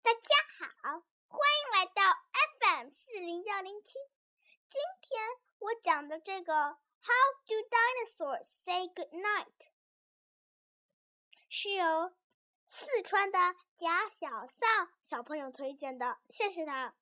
大家好，欢迎来到 FM 40107。今天我讲的这个 How do dinosaurs say goodnight 是由四川的贾小丧小朋友推荐的，谢谢他。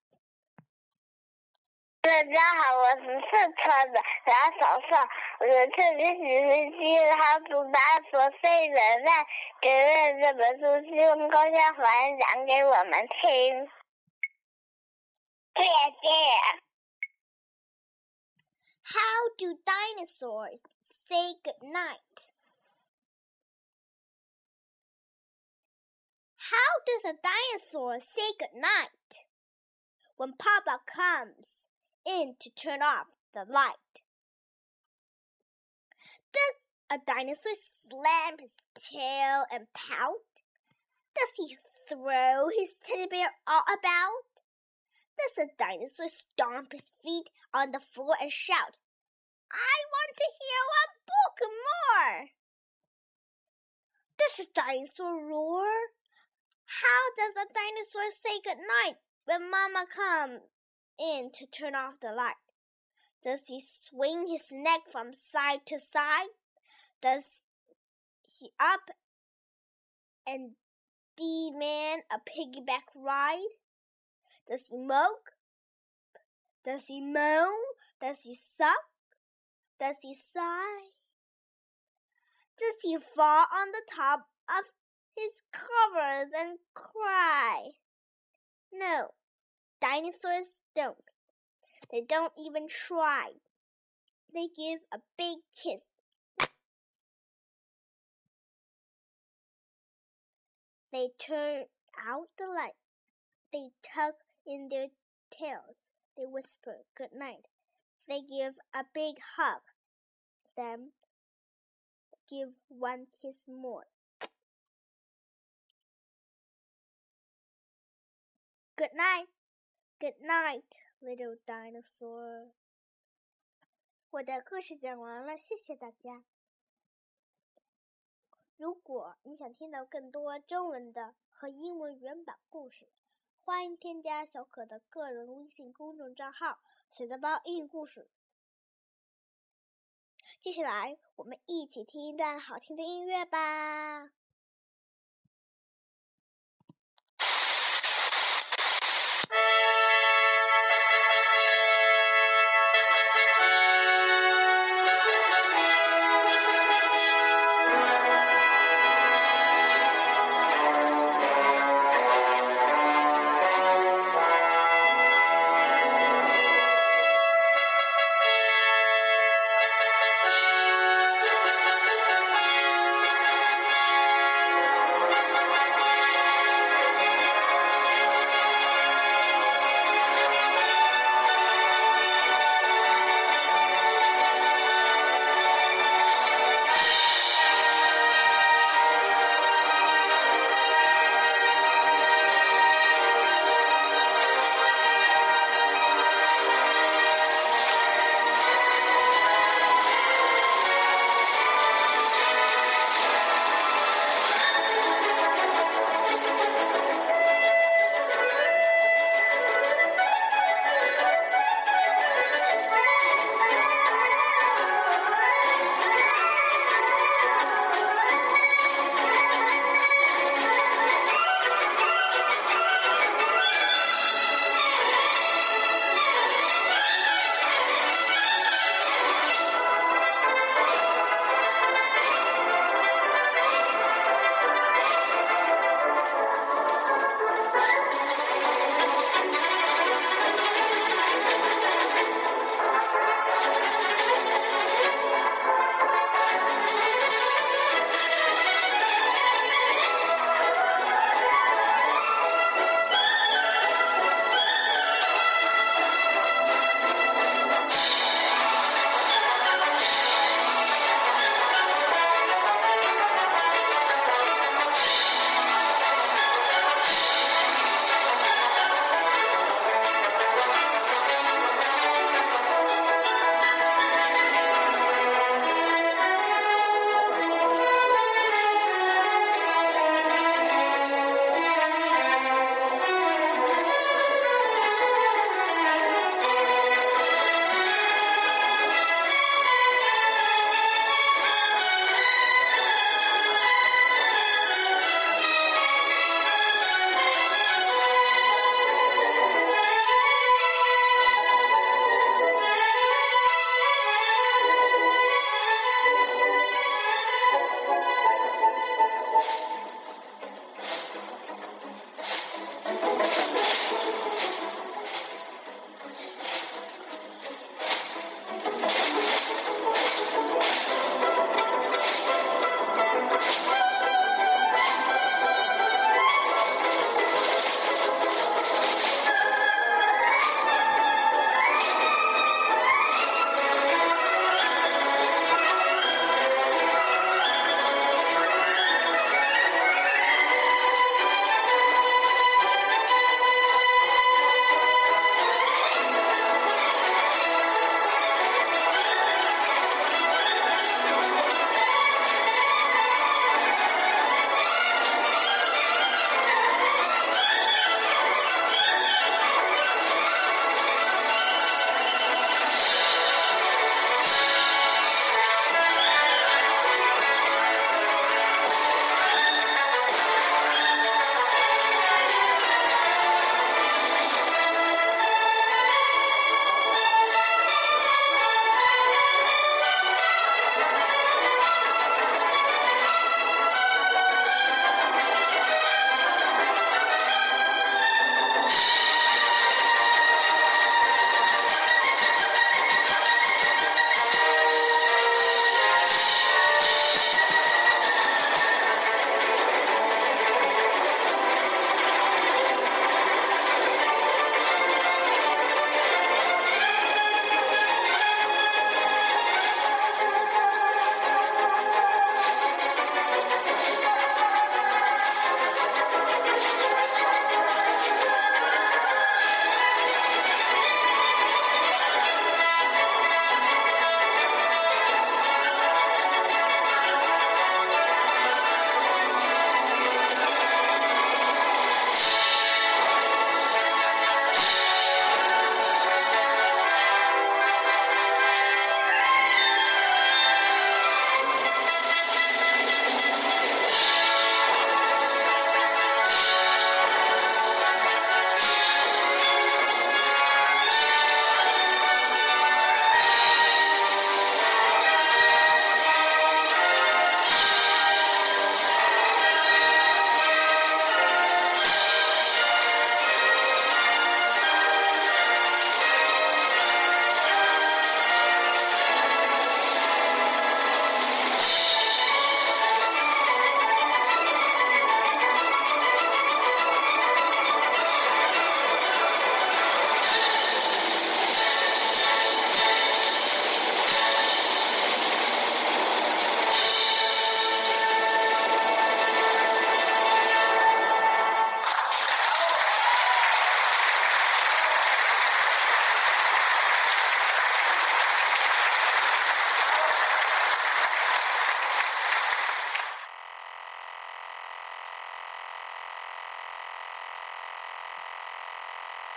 大家好，我是四川的贾小丧，我的特别喜欢听How do dinosaurs say goodnight，给了这本书希望高家环讲给我们听。谢谢。 How do dinosaurs say goodnight? How does a dinosaur say goodnight? When Papa comes in to turn off the light. Does a dinosaur slam his tail and pout? Does he throw his teddy bear all about? Does a dinosaur stomp his feet on the floor and shout, I want to hear one book more? Does a dinosaur roar? How does a dinosaur say goodnight when Mama comes in to turn off the light? Does he swing his neck from side to side? Does he up and demand a piggyback ride? Does he mope? Does he moan? Does he suck? Does he sigh? Does he fall on the top of his covers and cry? No, dinosaurs don't. They don't even try. They give a big kiss. They turn out the light. They tug in their tails. They whisper good night. They give a big hug. Then give one kiss more. Good night. Good night, little dinosaur. 我的故事讲完了，谢谢大家。如果你想听到更多中文的和英文原版故事，欢迎添加小可的个人微信公众账号“水蛋包英语故事”。接下来，我们一起听一段好听的音乐吧。